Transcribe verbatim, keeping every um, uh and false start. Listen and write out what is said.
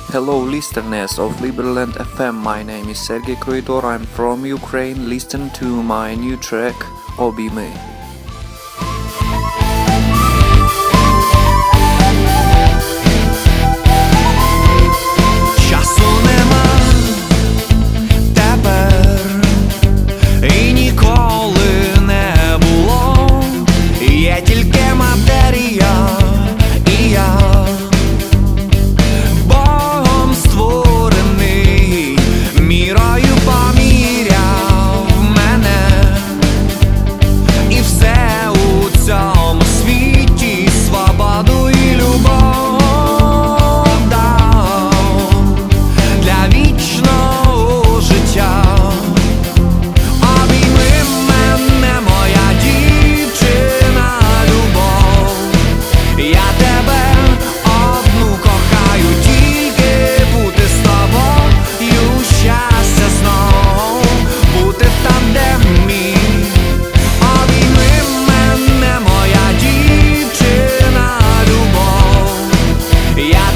Hello listeners of Liberland F M, my name is Sergey Kroidor, I'm from Ukraine. Listen to my new track Obimy. Часу нема тепер і ніколи не було. Є тільки матерія і я, Богом створений, мірою поміряв мене, і все у цьому світі свободу і любов дав для вічного життя. Обійми мене, моя дівчина, любов, я тебе одну кохаю, тільки бути з тобою, щастя знов, бути там, де мій. Обійми мене, моя дівчина, любов, я